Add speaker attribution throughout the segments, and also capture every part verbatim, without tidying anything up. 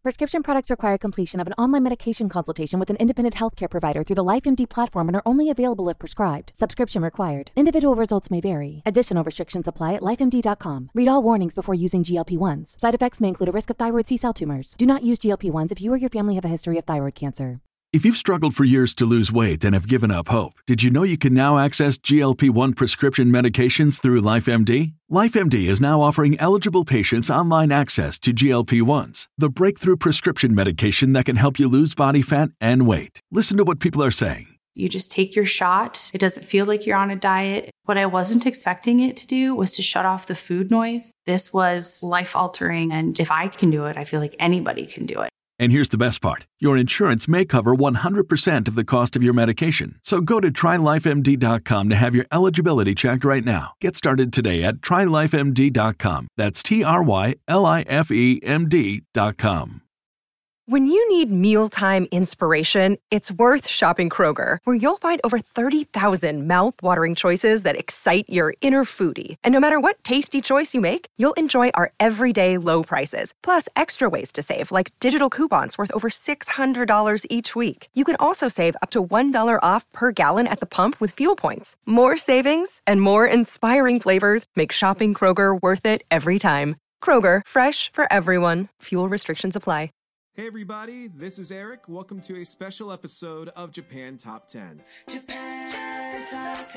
Speaker 1: Prescription products require completion of an online medication consultation with an independent healthcare provider through the LifeMD platform and are only available if prescribed. Subscription required. Individual results may vary. Additional restrictions apply at life M D dot com. Read all warnings before using G L P one s. Side effects may include a risk of thyroid C-cell tumors. Do not use G L P one s if you or your family have a history of thyroid cancer.
Speaker 2: If you've struggled for years to lose weight and have given up hope, did you know you can now access G L P one prescription medications through LifeMD? LifeMD is now offering eligible patients online access to G L P ones, the breakthrough prescription medication that can help you lose body fat and weight. Listen to what people are saying.
Speaker 3: You just take your shot. It doesn't feel like you're on a diet. What I wasn't expecting it to do was to shut off the food noise. This was life-altering, and if I can do it, I feel like anybody can do it.
Speaker 2: And here's the best part. Your insurance may cover one hundred percent of the cost of your medication. So go to try life M D dot com to have your eligibility checked right now. Get started today at try life M D dot com. That's T R Y L I F E M D dot com.
Speaker 4: When you need mealtime inspiration, it's worth shopping Kroger, where you'll find over thirty thousand mouth-watering choices that excite your inner foodie. And no matter what tasty choice you make, you'll enjoy our everyday low prices, plus extra ways to save, like digital coupons worth over six hundred dollars each week. You can also save up to one dollar off per gallon at the pump with fuel points. More savings and more inspiring flavors make shopping Kroger worth it every time. Kroger, fresh for everyone. Fuel restrictions apply.
Speaker 5: Hey everybody, this is Eric. Welcome to a special episode of Japan Top ten. Japan Top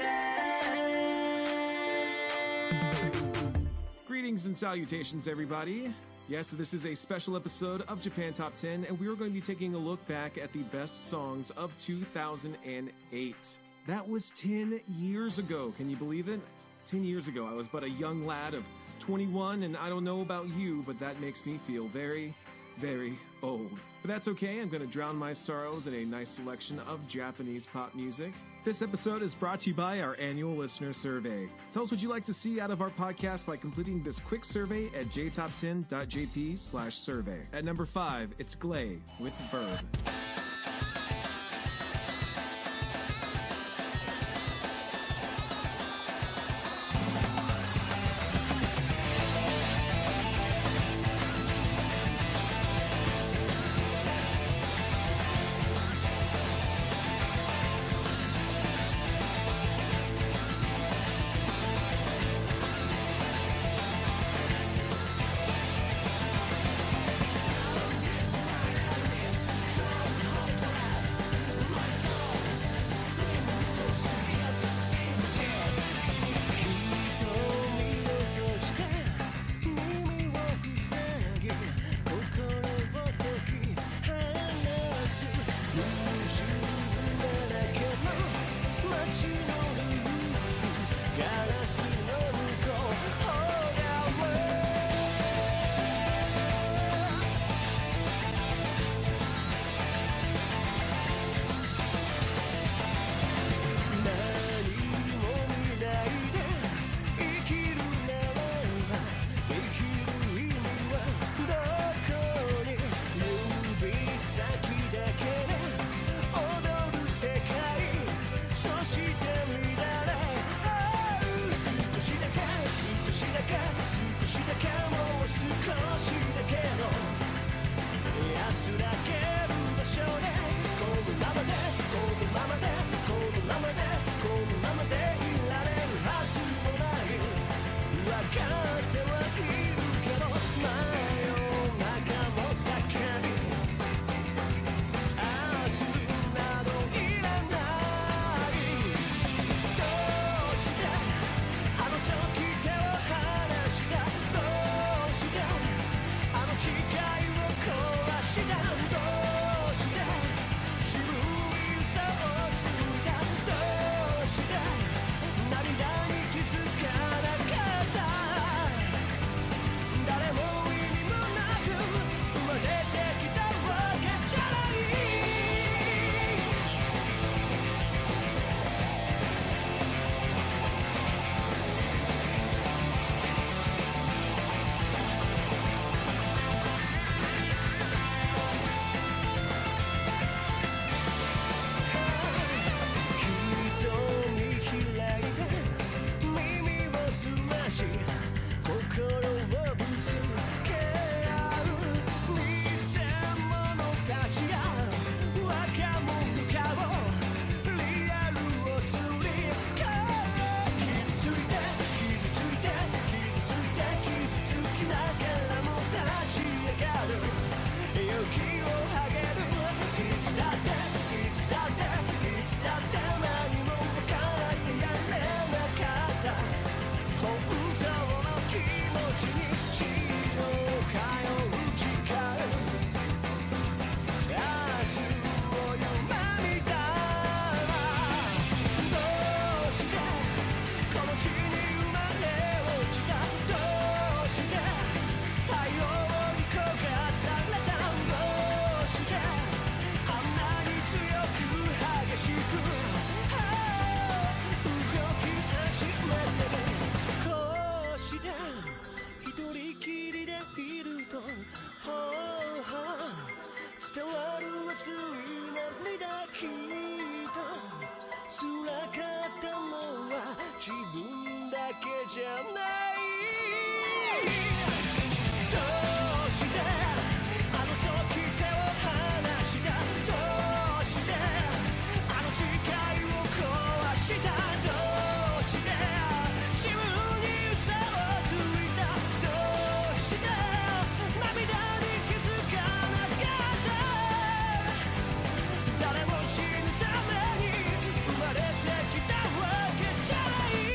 Speaker 5: ten. Greetings and salutations, everybody. Yes, this is a special episode of Japan Top ten, and we are going to be taking a look back at the best songs of two thousand eight. That was ten years ago. Can you believe it? ten years ago. I was but a young lad of twenty-one, and I don't know about you, but that makes me feel very, very old. But that's okay, I'm going to drown my sorrows in a nice selection of Japanese pop music. This episode is brought to you by our annual listener survey. Tell us what you'd like to see out of our podcast by completing this quick survey at j top ten dot j p slash survey. At number five, it's Glay with Verb.
Speaker 6: じゃないどうしてあの時手を離したどうしてあの誓いを壊したどうして自分に嘘をついたどうして涙に気づかなかった誰も死ぬために生まれてきたわけじゃない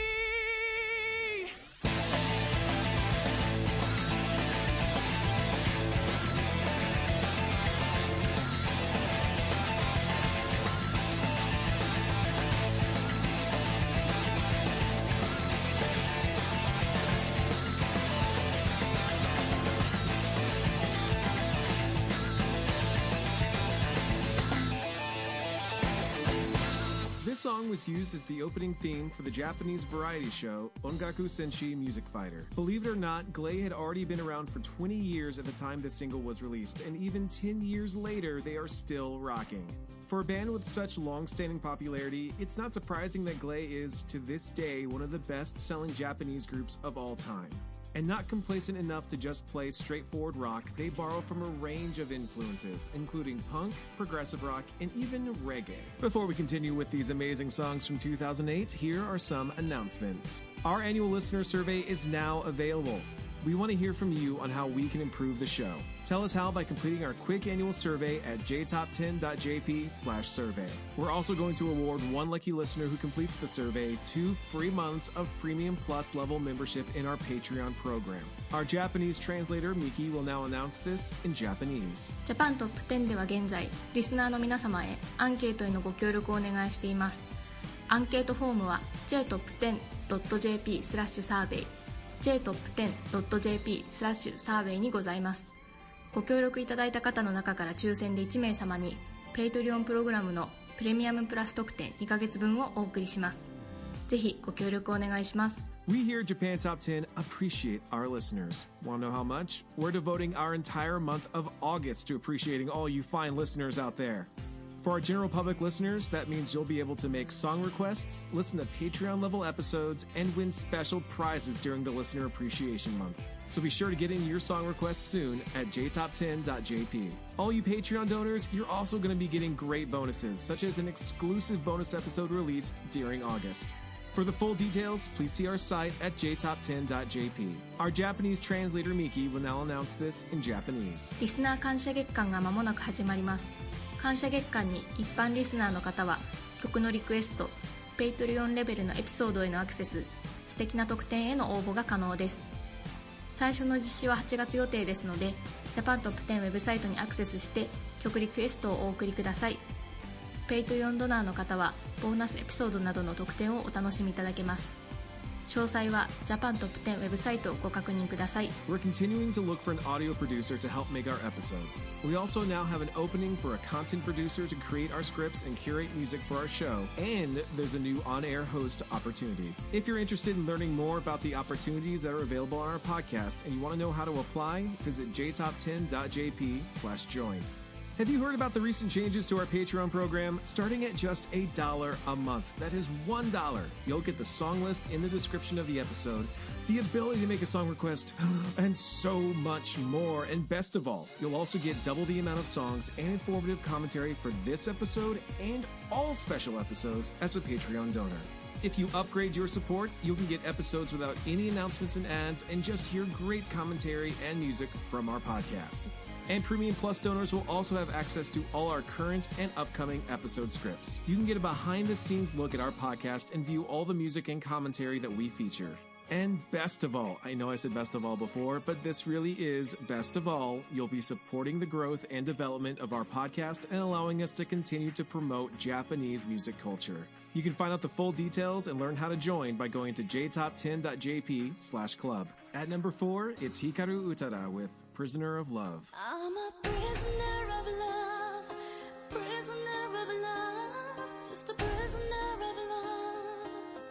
Speaker 5: This song was used as the opening theme for the Japanese variety show Ongaku Senshi Music Fighter. Believe it or not, Glay had already been around for twenty years at the time this single was released, and even ten years later, they are still rocking. For a band with such long-standing popularity, it's not surprising that Glay is, to this day, one of the best-selling Japanese groups of all time. And not complacent enough to just play straightforward rock, they borrow from a range of influences, including punk, progressive rock, and even reggae. Before we continue with these amazing songs from two thousand eight, here are some announcements. Our annual listener survey is now available. We want to hear from you on how we can improve the show. Tell us how by completing our quick annual survey at j top ten dot j p slash survey. We're also going to award one lucky listener who completes the survey two free months of Premium Plus level membership in our Patreon program. Our Japanese translator, Miki, will now announce this in Japanese.
Speaker 7: ジャパントップテンでは現在、リスナーの皆様へアンケートへのご協力をお願いしています。アンケートフォームは ジェイトップテンドットジェーピースラッシュサーベイジェイトップテンドットジェーピースラッシュサーベイにございます。ご協力いただいた方の中から抽選でいち名様に Patreon プログラムのプレミアムプラス特典にかげつぶんをお送りします。ぜひご協力お願いします。
Speaker 5: We here at Japan Top ten appreciate our listeners. Want to know how much? We're devoting our entire month of August to appreciating all you fine listeners out there. For our general public listeners, that means you'll be able to make song requests, listen to Patreon-level episodes, and win special prizes during the Listener Appreciation Month. So be sure to get in your song requests soon at j top ten dot j p. All you Patreon donors, you're also going to be getting great bonuses, such as an exclusive bonus episode released during August. For the full details, please see our site at j top ten dot j p. Our Japanese translator Miki will now announce this in Japanese.
Speaker 7: リスナー感謝月間が間もなく始まります。感謝月間に一般リスナーの方は曲のリクエスト、Patreon レベルのエピソードへのアクセス、素敵な特典への応募が可能です。最初の実施ははちがつ予定ですので、ジャパントップテンウェブサイトにアクセスして曲リクエストをお送りください。Patreon ドナーの方はボーナスエピソードなどの特典をお楽しみいただけます。詳細はジャパントップテンウェブサイトをご確認ください。
Speaker 5: We're continuing to look for an audio producer to help make our episodes. We also now have an opening for a content producer to create our scripts and curate music for our show. And there's a new on-air host opportunity. If you're interested in learning more about the opportunities that are available on our podcast and you want to know how to apply, visit j top ten dot j p slash join. Have you heard about the recent changes to our Patreon program? Starting at just a dollar a month. That is one dollar. You'll get the song list in the description of the episode, the ability to make a song request, and so much more. And best of all, you'll also get double the amount of songs and informative commentary for this episode and all special episodes as a Patreon donor. If you upgrade your support, you can get episodes without any announcements and ads and just hear great commentary and music from our podcast. And Premium Plus donors will also have access to all our current and upcoming episode scripts. You can get a behind-the-scenes look at our podcast and view all the music and commentary that we feature. And best of all, I know I said best of all before, but this really is best of all. You'll be supporting the growth and development of our podcast and allowing us to continue to promote Japanese music culture. You can find out the full details and learn how to join by going to j top ten dot j p slash club. At number four, it's Hikaru Utada with Prisoner of Love.
Speaker 8: I'm a prisoner of love, prisoner of love, just a prisoner of love.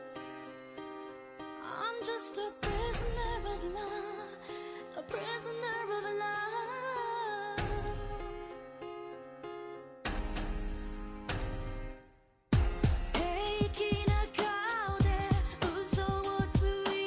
Speaker 8: I'm just a prisoner of love, a prisoner of love. Taking a call, 嘘をつい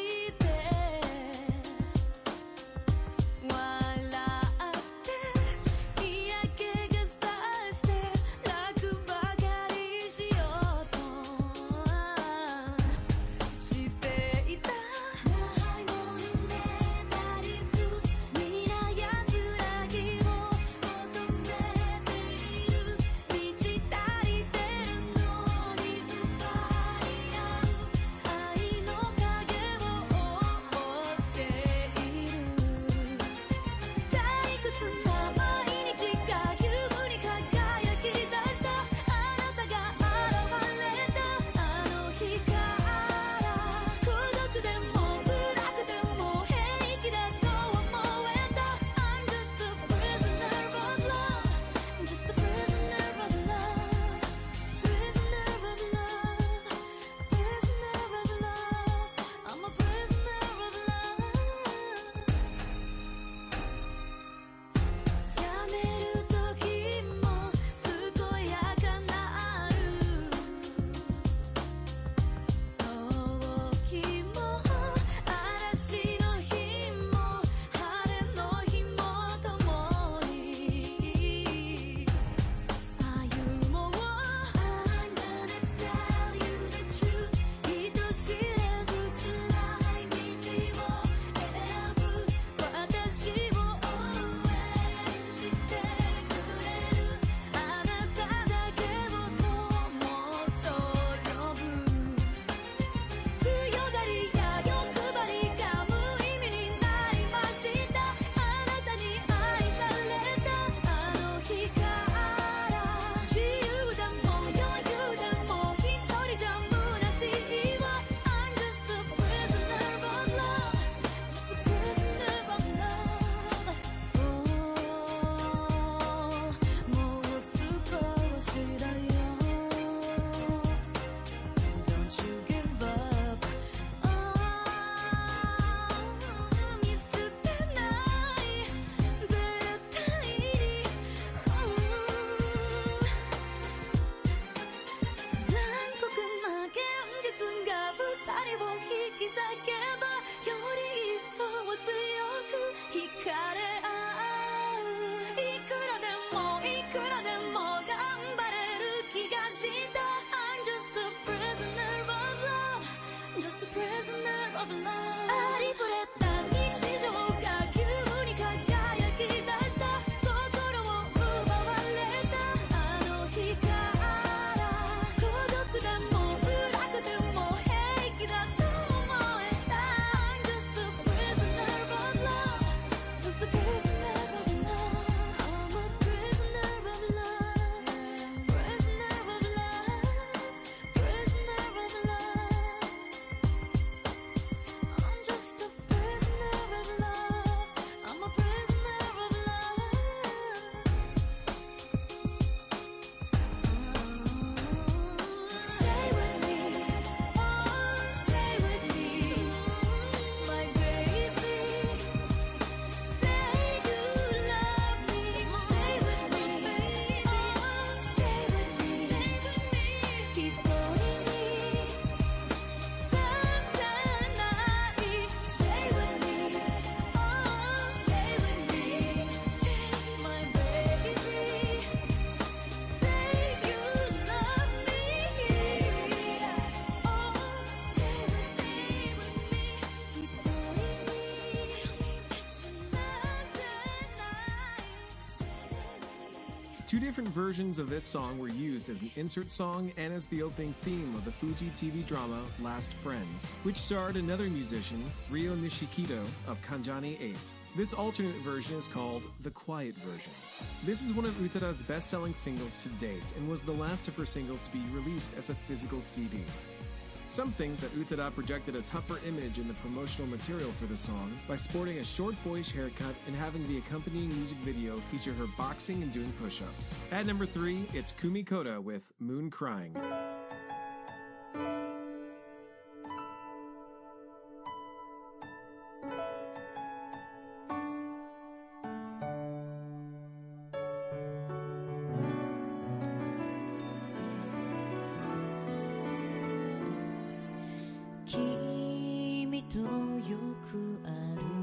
Speaker 5: Two different versions of this song were used as an insert song and as the opening theme of the Fuji T V drama Last Friends, which starred another musician, Ryo Nishikido of Kanjani eight. This alternate version is called the Quiet Version. This is one of Utada's best-selling singles to date and was the last of her singles to be released as a physical C D. Some think that Utada projected a tougher image in the promotional material for the song by sporting a short boyish haircut and having the accompanying music video feature her boxing and doing push-ups. At number three, it's Kumi Koda with Moon Crying.
Speaker 8: 君とよく歩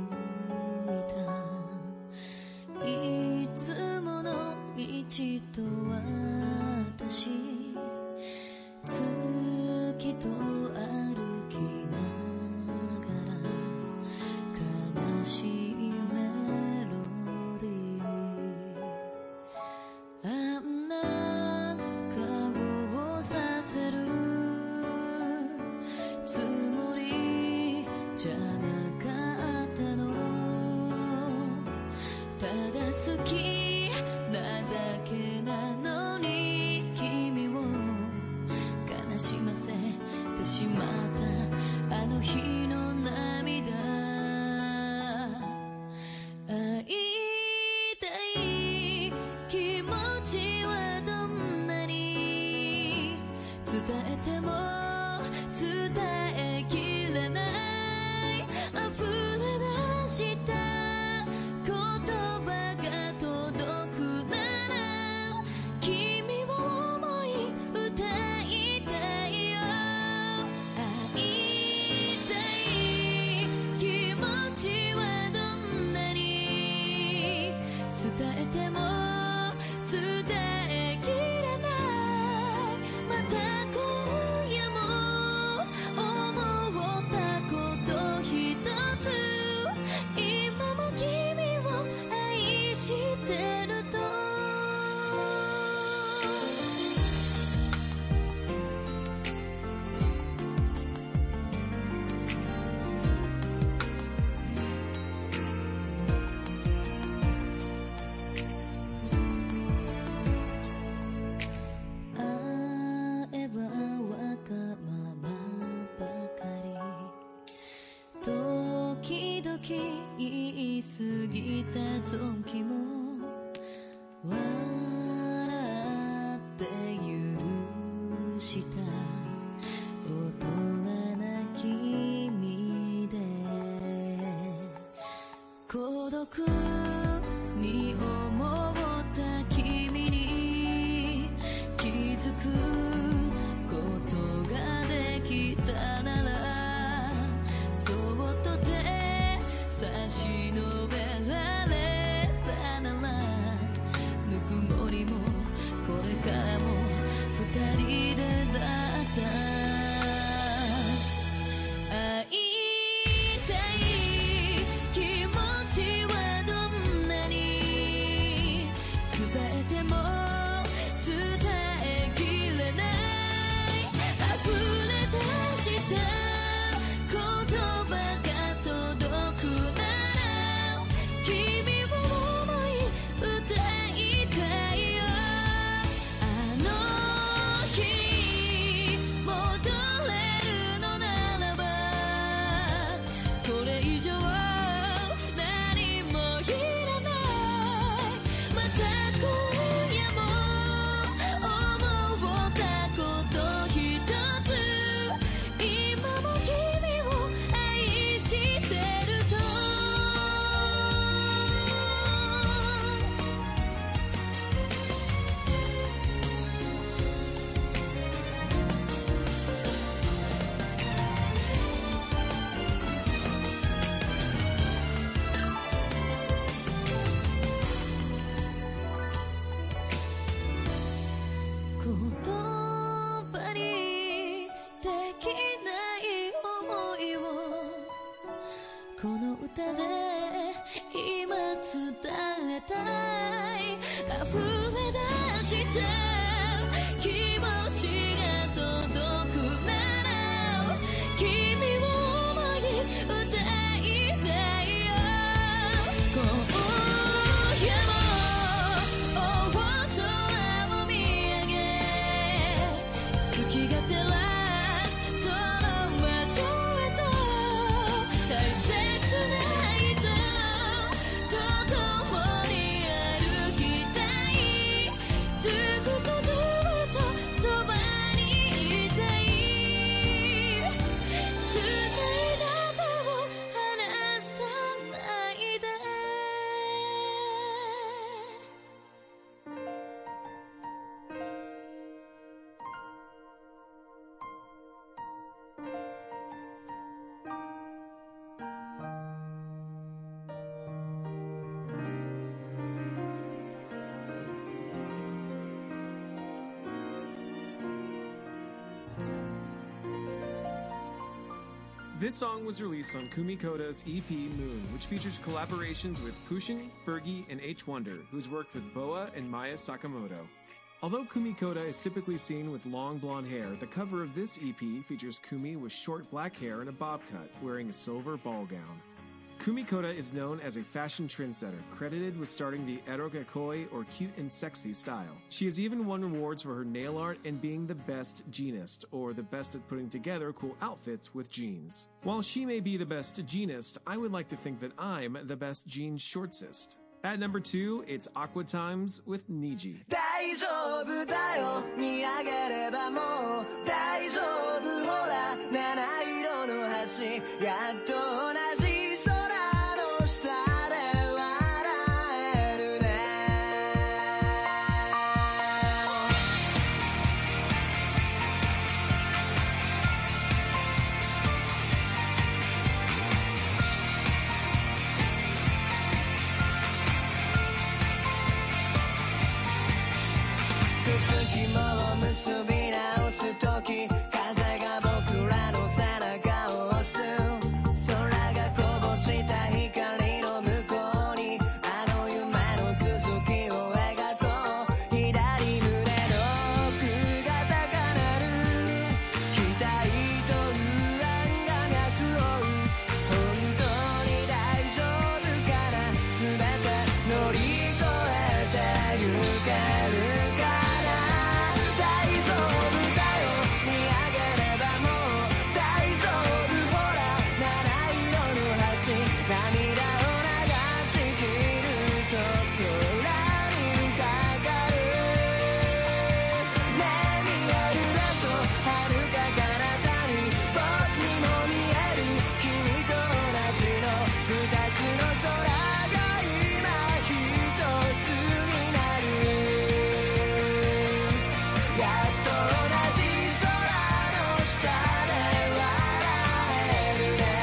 Speaker 8: いたいつもの道と私月と歩きながら悲しいメロディーあんな顔をさせるつもりじゃなかったのただ好きなだけなのに君を悲しませてしまったあの日の涙会いたい気持ちはどんなに伝えても伝えきれない溢れ出した言葉が届くなら君を思い歌いたいよ会いたい気持ちはどんなに伝えても伝えきれないまた今夜も思ったことひとつ今も君を愛してると会えばわがままばかり時々言い過ぎた時も笑って許した大人な君で孤独に思った君に気づくことができたならそっと手差し伸べられたならぬくもりもこれからも二人でだった会いたい気持ちはどんなに伝えても伝えきれない溢れ出した言葉が届くなら君を思い歌いたいよあの日戻れるのならばこれ以上何もいらないまた今夜も思ったことひとつ今も君を愛してると気持ちが届くなら君を思い歌いたいよ今夜も大空を見上げ月が照らすその場所へと大切な人と共に歩きたいずっとずっとそばにいたい伝えた手を離さないで
Speaker 5: This song was released on Kumi Koda's E P Moon, which features collaborations with Pushin, Fergie, and H Wonder, who's worked with Boa and Maya Sakamoto. Although Kumi Koda is typically seen with long blonde hair, the cover of this E P features Kumi with short black hair and a bob cut, wearing a silver ball gown. Kumi Koda is known as a fashion trendsetter, credited with starting the erogakoi or cute and sexy style. She has even won awards for her nail art and being the best jeanist, or the best at putting together cool outfits with jeans. While she may be the best jeanist, I would like to think that I'm the best jean shortsist. At number two, it's Aqua Times with Niji.
Speaker 6: 大丈夫だよ見上げればもう大丈夫ほら七色の橋やっと同じ空の下で笑えるね靴紐を結び直すとき風が僕らの背中を押す空がこぼした光の向こうにあの夢の続きを描こう左胸の奥が高鳴る期待と不安が脈を打つ本当に大丈夫かな全て乗り越えてゆけるか大丈夫だよ見上げればもう大丈夫ほら七色の橋涙を流し切ると空にかかるねえ見えるでしょ遥か彼方に僕にも見える君と同じの二つの空が今一つになるやっと同じ空の下で笑えるね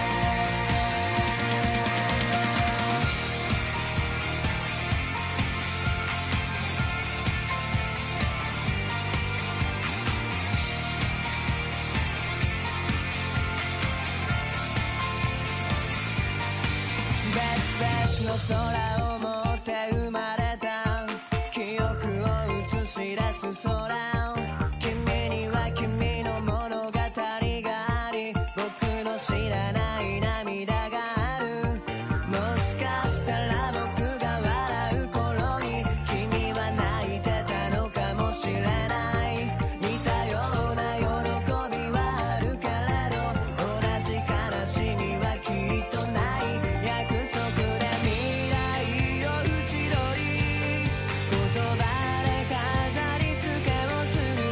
Speaker 6: 別々の空を持って生まれた記憶を映し出す空君には君の物語があり僕の知らない涙があるもしかしたら僕が笑う頃に君は泣いてたのかもしれない似たような喜びはあるけれど同じ悲しみはきっとない約束で未来を縁取り言葉で飾り付けをする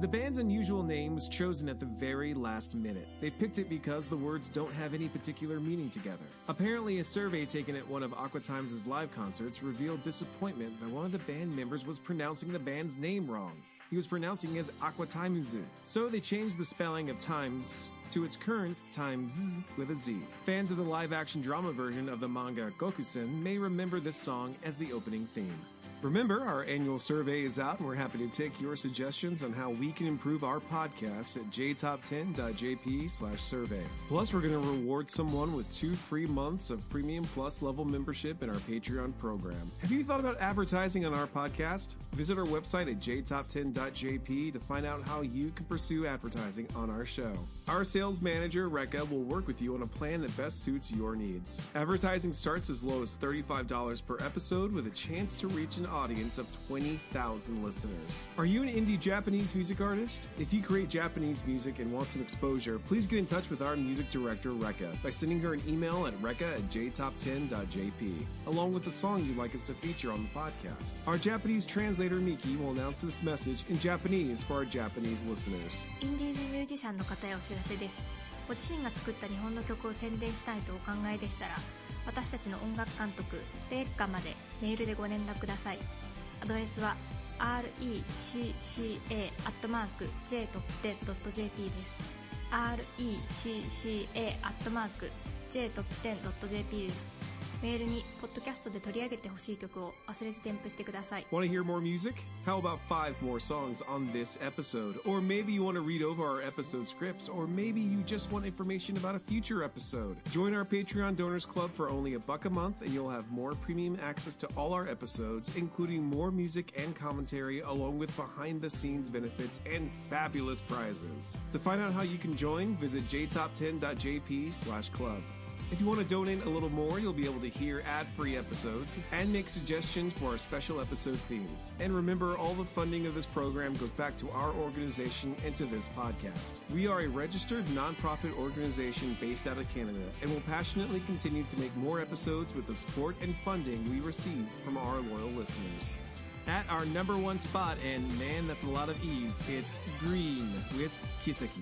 Speaker 5: The band's unusual name was chosen at the very last minute. They picked it because the words don't have any particular meaning together. Apparently, a survey taken at one of Aqua Times' live concerts revealed disappointment that one of the band members was pronouncing the band's name wrong. He was pronouncing it as Aqua Times. So they changed the spelling of Times to its current Times with a Z. Fans of the live-action drama version of the manga Gokusen may remember this song as the opening theme. Remember, our annual survey is out, and we're happy to take your suggestions on how we can improve our podcast at j top ten dot j p slash survey. Plus, we're going to reward someone with two free months of Premium Plus level membership in our Patreon program. Have you thought about advertising on our podcast? Visit our website at j top ten dot j p to find out how you can pursue advertising on our show. Our sales manager, Rekka, will work with you on a plan that best suits your needs. Advertising starts as low as thirty-five dollars per episode with a chance to reach an audience of twenty thousand listeners. Are you an indie Japanese music artist? If you create Japanese music and want some exposure, please get in touch with our music director, Rekka, by sending her an email at rekka at j top ten dot j p, along with the song you'd like us to feature on the podcast. Our Japanese translator, Miki, will announce this message in Japanese for our Japanese listeners.
Speaker 7: インディーズミュージシャンの方へお知らせです。ご自身が作った日本の曲を宣伝したいとお考えでしたら、私たちの音楽監督レッカまでメールでご連絡ください。アドレスは アールイーシーシーエー アットマーク ジェイトップテン ドット ジェーピー です。 アールイーシーシーエー アットマーク ジェイトップテン ドット ジェーピー です。メールにポッドキャストで取り上げてほしい曲を忘れず添付してください。
Speaker 5: Want to hear more music? How about five more songs on this episode? Or maybe you want to read over our episode scripts, or maybe you just want information about a future episode. Join our Patreon Donors Club for only a buck a month, and you'll have more premium access to all our episodes, including more music and commentary, along with behind-the-scenes benefits and fabulous prizes. To find out how you can join, visit j top ten dot j p slash club. If you want to donate a little more, you'll be able to hear ad-free episodes and make suggestions for our special episode themes. And remember, all the funding of this program goes back to our organization and to this podcast. We are a registered nonprofit organization based out of Canada and will passionately continue to make more episodes with the support and funding we receive from our loyal listeners. At our number one spot, and man, that's a lot of E's, it's Green with Kiseki.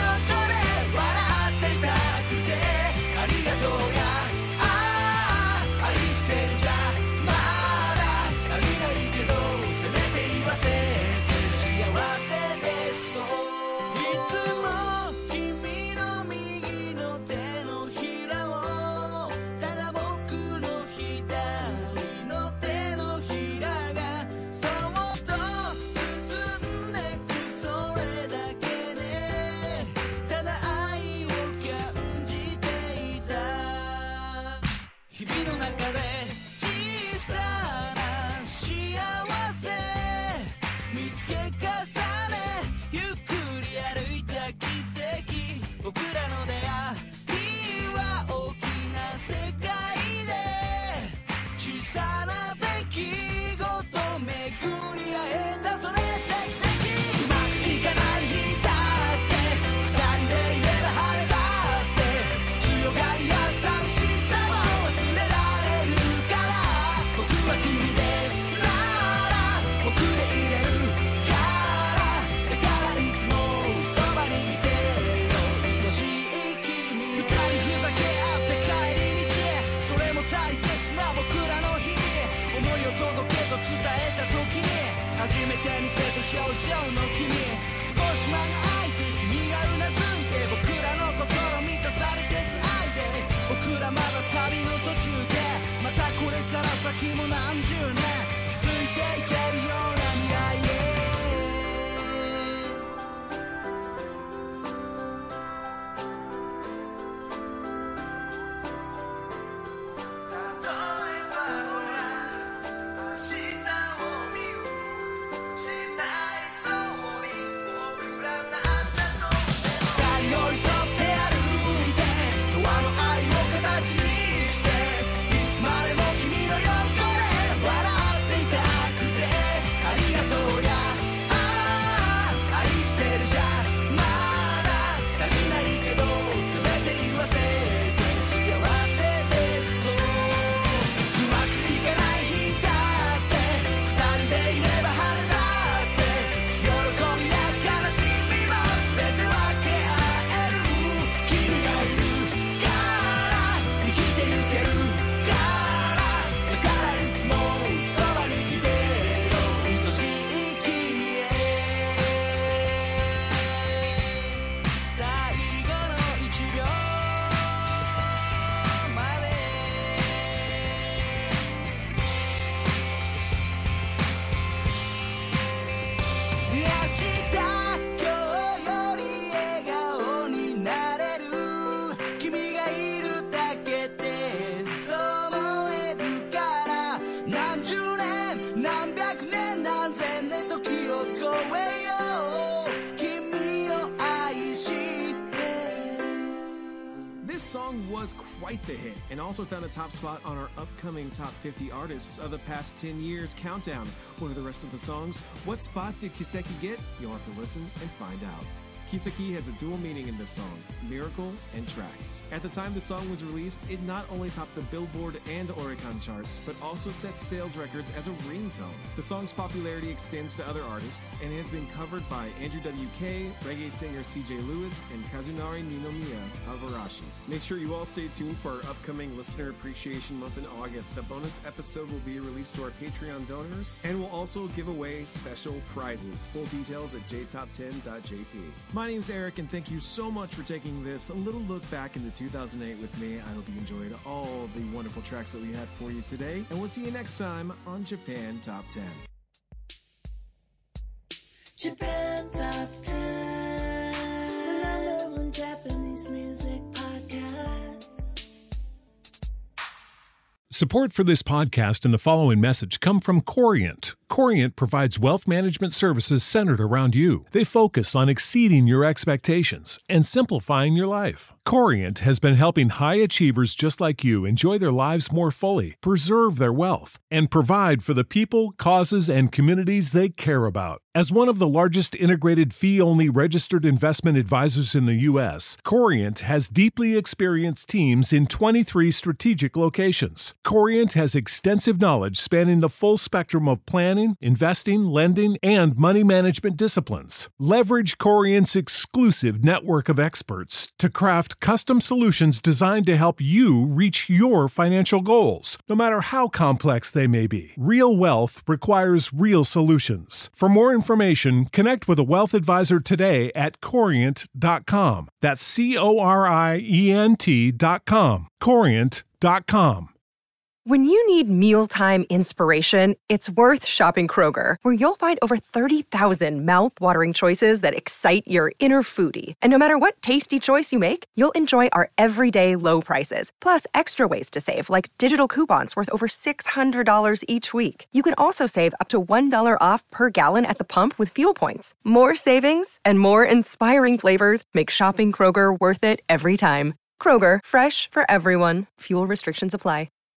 Speaker 6: 「 先も何十年続いていけるような未来へ
Speaker 5: This song was quite the hit and also found a top spot on our upcoming Top fifty Artists of the Past ten Years countdown. What are the rest of the songs? What spot did Kiseki get? You'll have to listen and find out. Kiseki has a dual meaning in this song, miracle and tracks. At the time the song was released, it not only topped the Billboard and Oricon charts, but also set sales records as a ringtone. The song's popularity extends to other artists and has been covered by Andrew W K, reggae singer C J Lewis, and Kazunari Ninomiya of Arashi. Make sure you all stay tuned for our upcoming Listener Appreciation Month in August. A bonus episode will be released to our Patreon donors, and we'll also give away special prizes. Full details at j top ten dot j p. My name's Eric, and thank you so much for taking this little look back into two thousand eight with me. I hope you enjoyed all the wonderful tracks that we had for you today, and we'll see you next time on Japan Top ten.
Speaker 8: Japan Top ten, the number one Japanese music podcast.
Speaker 9: Support for this podcast and the following message come from Corient. Corient provides wealth management services centered around you. They focus on exceeding your expectations and simplifying your life. Corient has been helping high achievers just like you enjoy their lives more fully, preserve their wealth, and provide for the people, causes, and communities they care about. As one of the largest integrated fee-only registered investment advisors in the U S, Corient has deeply experienced teams in twenty-three strategic locations. Corient has extensive knowledge spanning the full spectrum of planning, investing, lending, and money management disciplines. Leverage Corient's exclusive network of experts to craft custom solutions designed to help you reach your financial goals, no matter how complex they may be. Real wealth requires real solutions. For more information, connect with a wealth advisor today at corient dot com. That's C O R I E N T dot com. corient dot com.
Speaker 4: When you need mealtime inspiration, it's worth shopping Kroger, where you'll find over thirty thousand mouth-watering choices that excite your inner foodie. And no matter what tasty choice you make, you'll enjoy our everyday low prices, plus extra ways to save, like digital coupons worth over six hundred dollars each week. You can also save up to one dollar off per gallon at the pump with fuel points. More savings and more inspiring flavors make shopping Kroger worth it every time. Kroger, fresh for everyone. Fuel restrictions apply.